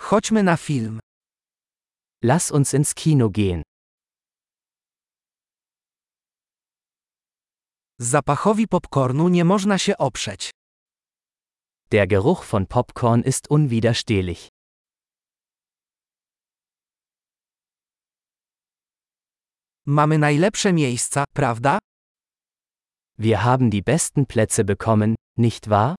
Chodźmy na film. Lass uns ins Kino gehen. Zapachowi popcornu nie można się oprzeć. Der Geruch von Popcorn ist unwiderstehlich. Mamy najlepsze miejsca, prawda? Wir haben die besten Plätze bekommen, nicht wahr?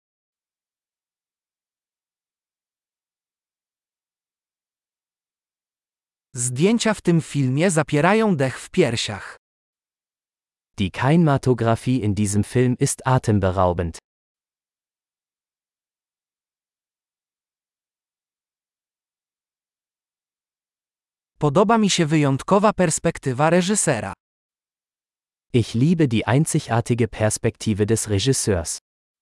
Zdjęcia w tym filmie zapierają dech w piersiach. Die Kinematografie in diesem Film ist atemberaubend. Podoba mi się wyjątkowa perspektywa reżysera. Ich liebe die einzigartige Perspektive des Regisseurs.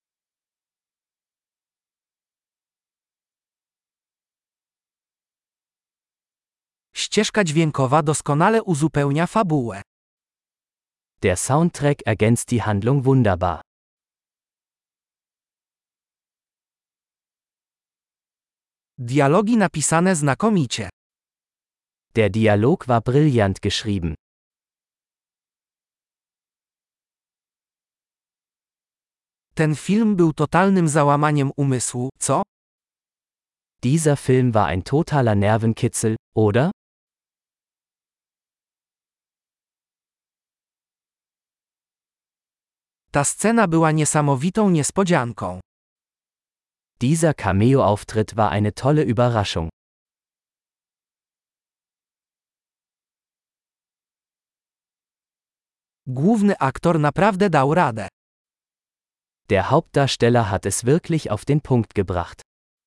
Ścieżka dźwiękowa doskonale uzupełnia fabułę. Der Soundtrack ergänzt die Handlung wunderbar. Dialogi napisane znakomicie. Der Dialog war brillant geschrieben. Ten film był totalnym załamaniem umysłu, co? Dieser Film war ein totaler Nervenkitzel, oder? Ta scena była niesamowitą niespodzianką. Dieser Cameo-Auftritt war eine tolle Überraschung. Główny aktor naprawdę dał radę. Der Hauptdarsteller hat es wirklich auf den Punkt gebracht.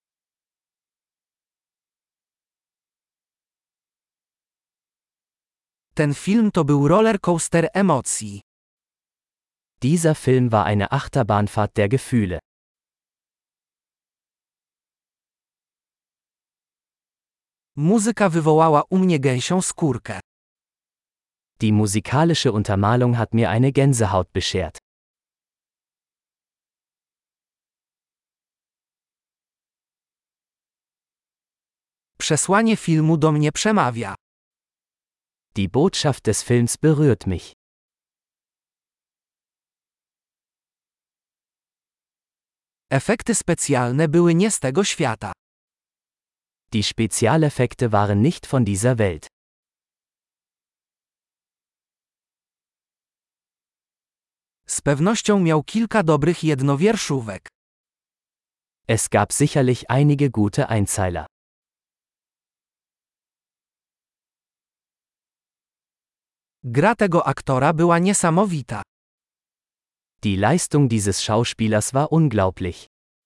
Ten film to był rollercoaster emocji. Dieser Film war eine Achterbahnfahrt der Gefühle. Muzyka wywołała u mnie gęsią skórkę. Die musikalische Untermalung hat mir eine Gänsehaut beschert. Przesłanie filmu do mnie przemawia. Die Botschaft des Films berührt mich. Efekty specjalne były nie z tego świata. Die Spezialeffekte waren nicht von dieser Welt. Z pewnością miał kilka dobrych jednowierszówek. Es gab sicherlich einige gute Einzeiler. Gra tego aktora była niesamowita. Die Leistung dieses Schauspielers war unglaublich.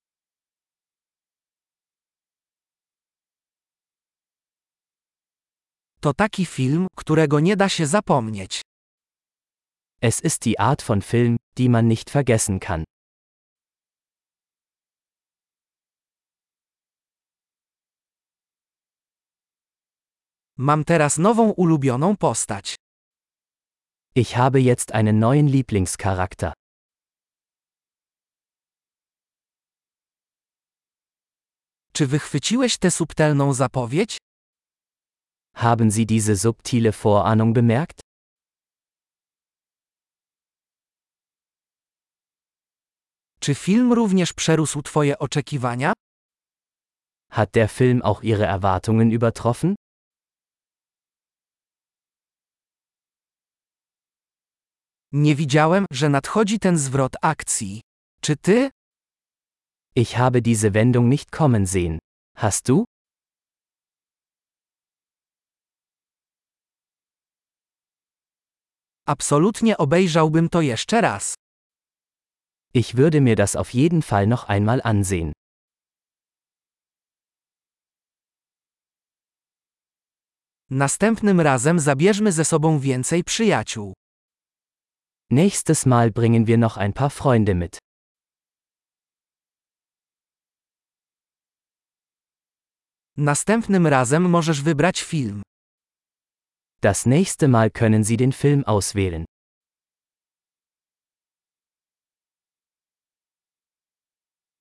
To taki film, którego nie da się zapomnieć. Es ist die Art von Film, die man nicht vergessen kann. Mam teraz nową ulubioną postać. Ich habe jetzt einen neuen Lieblingscharakter. Czy wychwyciłeś tę subtelną zapowiedź? Haben Sie diese subtile Vorahnung bemerkt? Czy film również przerósł Twoje oczekiwania? Hat der Film auch Ihre Erwartungen übertroffen? Nie widziałem, że nadchodzi ten zwrot akcji. Czy ty? Ich habe diese Wendung nicht kommen sehen. Hast du? Absolutnie obejrzałbym to jeszcze raz. Ich würde mir das auf jeden Fall noch einmal ansehen. Następnym razem zabierzmy ze sobą więcej przyjaciół. Nächstes Mal bringen wir noch ein paar Freunde mit. Następnym razem możesz wybrać film. Das nächste Mal können Sie den Film auswählen.